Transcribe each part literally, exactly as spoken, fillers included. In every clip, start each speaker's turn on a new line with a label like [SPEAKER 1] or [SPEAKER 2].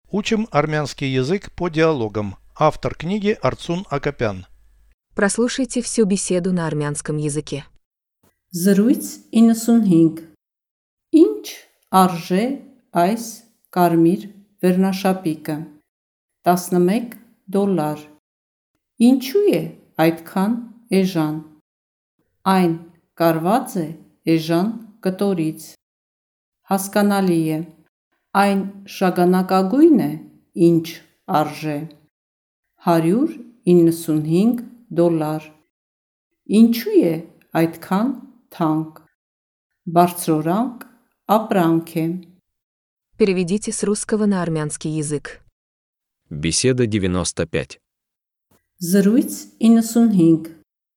[SPEAKER 1] Учим армянский язык по диалогам. Автор книги Арцун Акопян.
[SPEAKER 2] Прослушайте всю беседу на армянском языке.
[SPEAKER 3] Զրույց իննսունհինգ Ինչ արժե այս կարմիր վերնաշապիկը տասնմեկ դոլար Ինչու է այդքան էժան Այն կարված է էժան կտորից Հասկանալի է Այն շագանակագույն է ինչ արժե հարյուր իննսունհինգ դոլար Ինչու է այդքան թանկ Բարձրորանք ապրանք է
[SPEAKER 2] Переведите с русского на армянский язык.
[SPEAKER 4] Беседа девяносто пять.
[SPEAKER 3] Զրույց իննսունհինգ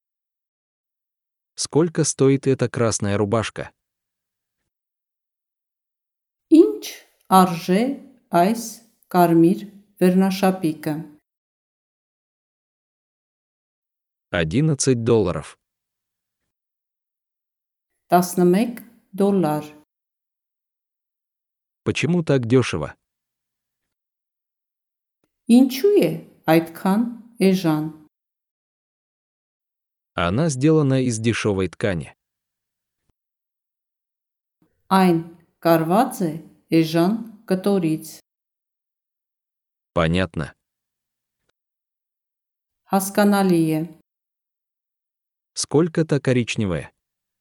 [SPEAKER 4] Сколько стоит эта красная рубашка?
[SPEAKER 3] Ինչ արժե այս կարմիր վերնաշապիկը
[SPEAKER 4] одиннадцать долларов.
[SPEAKER 3] տասնմեկ դոլար
[SPEAKER 4] Почему так дешево?
[SPEAKER 3] Ինչու է այդքան էժան
[SPEAKER 4] Она сделана из дешевой ткани.
[SPEAKER 3] Այն կարված է էժան կտորից
[SPEAKER 4] Понятно.
[SPEAKER 3] Հասկանալի է
[SPEAKER 4] Сколько-то коричневая.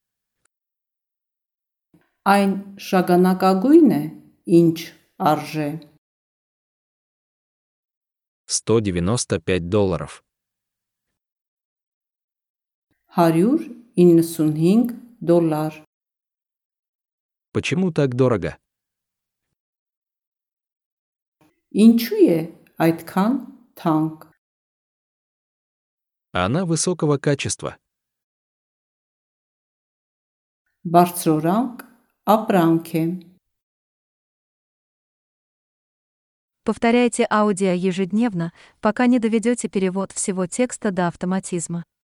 [SPEAKER 3] Այն շագանակագույն է ինչ արժե
[SPEAKER 4] сто девяносто пять долларов.
[SPEAKER 3] հարյուր իննսունհինգ դոլար
[SPEAKER 4] Почему так дорого?
[SPEAKER 3] Ինչու է այդքան թանկ
[SPEAKER 4] Она высокого качества.
[SPEAKER 3] Բարձրորանք ապրանք է
[SPEAKER 5] Повторяйте аудио ежедневно, пока не доведете перевод всего текста до автоматизма.